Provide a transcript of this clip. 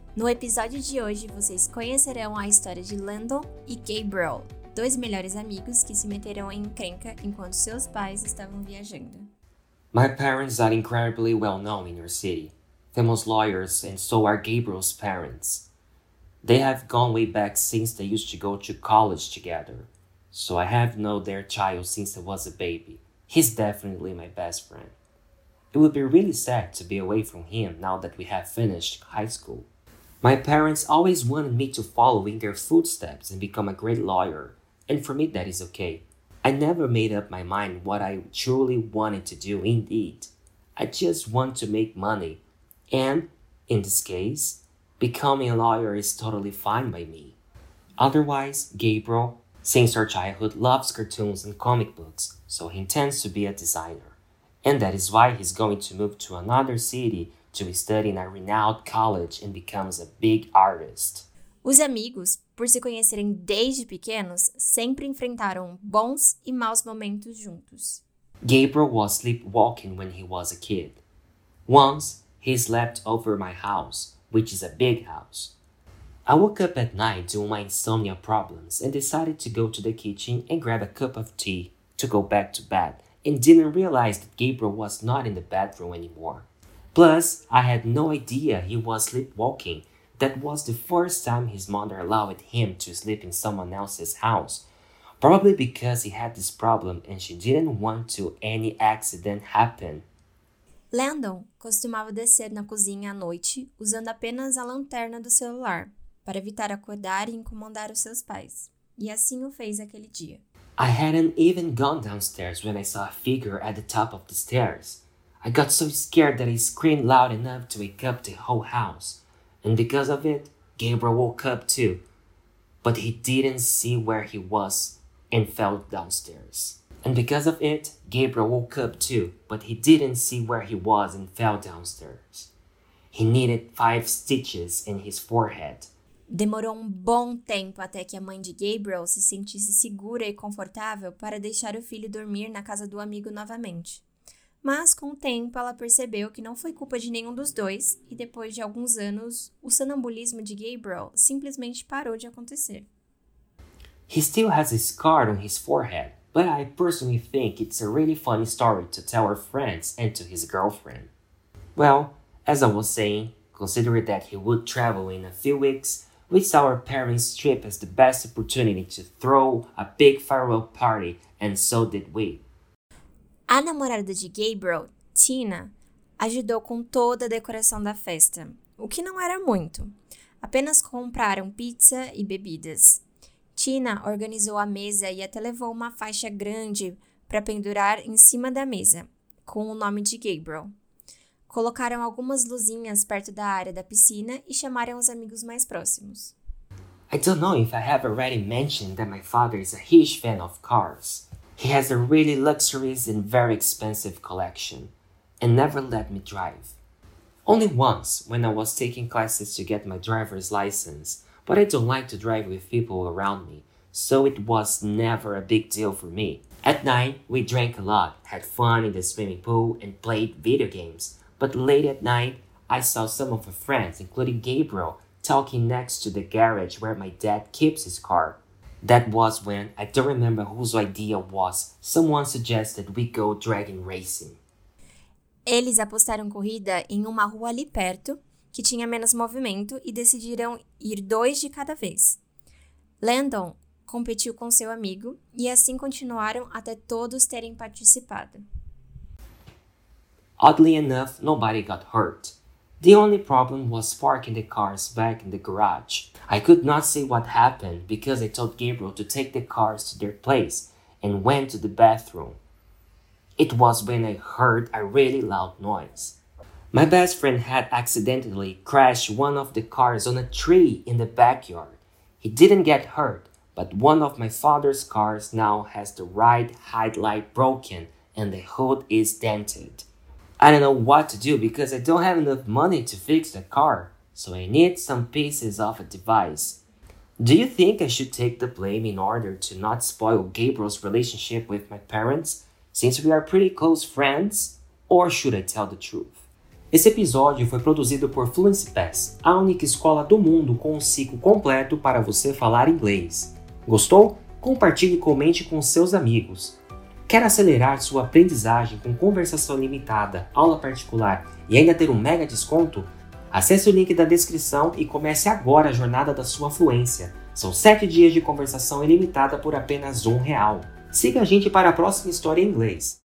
No episódio de hoje, vocês conhecerão a história de Landon e Gabriel, dois melhores amigos que se meteram em encrenca enquanto seus pais estavam viajando. My parents are incredibly well known in your city, famous lawyers, and so are Gabriel's parents. They have gone way back since they used to go to college together, so I have known their child since I was a baby. He's definitely my best friend. It would be really sad to be away from him now that we have finished high school. My parents always wanted me to follow in their footsteps and become a great lawyer, and for me that is okay. I never made up my mind what I truly wanted to do indeed. I just want to make money, and, in this case, becoming a lawyer is totally fine by me. Otherwise, Gabriel, since our childhood, loves cartoons and comic books, so he intends to be a designer. And that is why he's going to move to another city to study in a renowned college and becomes a big artist. Os amigos, por se conhecerem desde pequenos, sempre enfrentaram bons e maus momentos juntos. Gabriel was sleepwalking when he was a kid. Once, he slept over my house, which is a big house. I woke up at night due to my insomnia problems and decided to go to the kitchen and grab a cup of tea to go back to bed and didn't realize that Gabriel was not in the bedroom anymore. Plus, I had no idea he was sleepwalking. That was the first time his mother allowed him to sleep in someone else's house. Probably because he had this problem and she didn't want to any accident happen. Landon costumava descer na cozinha à noite usando apenas a lanterna do celular, para evitar acordar e incomodar os seus pais. E assim o fez aquele dia. I hadn't even gone downstairs when I saw a figure at the top of the stairs. I got so scared that I screamed loud enough to wake up the whole house. And because of it, Gabriel woke up too. But he didn't see where he was and fell downstairs. And because of it, Gabriel woke up too, but he didn't see where he was and fell downstairs. He needed 5 stitches in his forehead. Demorou um bom tempo até que a mãe de Gabriel se sentisse segura e confortável para deixar o filho dormir na casa do amigo novamente. Mas, com o tempo, ela percebeu que não foi culpa de nenhum dos dois e, depois de alguns anos, o sonambulismo de Gabriel simplesmente parou de acontecer. He still has a scar on his forehead, but I personally think it's a really funny story to tell our friends and to his girlfriend. Well, as I was saying, considering that he would travel in a few weeks, we saw our parents' trip as the best opportunity to throw a big farewell party, and so did we. A namorada de Gabriel, Tina, ajudou com toda a decoração da festa, o que não era muito. Apenas compraram pizza e bebidas. Tina organizou a mesa e até levou uma faixa grande para pendurar em cima da mesa, com o nome de Gabriel. Colocaram algumas luzinhas perto da área da piscina e chamaram os amigos mais próximos. I don't know if I have already mentioned that my father is a huge fan of cars. He has a really luxurious and very expensive collection, and never let me drive. Only once, when I was taking classes to get my driver's license, but I don't like to drive with people around me, so it was never a big deal for me. At night, we drank a lot, had fun in the swimming pool, and played video games. But late at night, I saw some of my friends, including Gabriel, talking next to the garage where my dad keeps his car. That was when, I don't remember whose idea was, someone suggested we go dragon racing. Eles apostaram corrida em uma rua ali perto, que tinha menos movimento, e decidiram ir 2 de cada vez. Landon competiu com seu amigo, e assim continuaram até todos terem participado. Oddly enough, nobody got hurt. The only problem was parking the cars back in the garage. I could not see what happened because I told Gabriel to take the cars to their place and went to the bathroom. It was when I heard a really loud noise. My best friend had accidentally crashed one of the cars on a tree in the backyard. He didn't get hurt, but one of my father's cars now has the right headlight broken and the hood is dented. I don't know what to do because I don't have enough money to fix the car, so I need some pieces of a device. Do you think I should take the blame in order to not spoil Gabriel's relationship with my parents, since we are pretty close friends, or should I tell the truth? Esse episódio foi produzido por Fluency Pass, a única escola do mundo com um ciclo completo para você falar inglês. Gostou? Compartilhe e comente com seus amigos. Quer acelerar sua aprendizagem com conversação limitada, aula particular e ainda ter um mega desconto? Acesse o link da descrição e comece agora a jornada da sua fluência. São 7 dias de conversação ilimitada por apenas R$1. Siga a gente para a próxima história em inglês.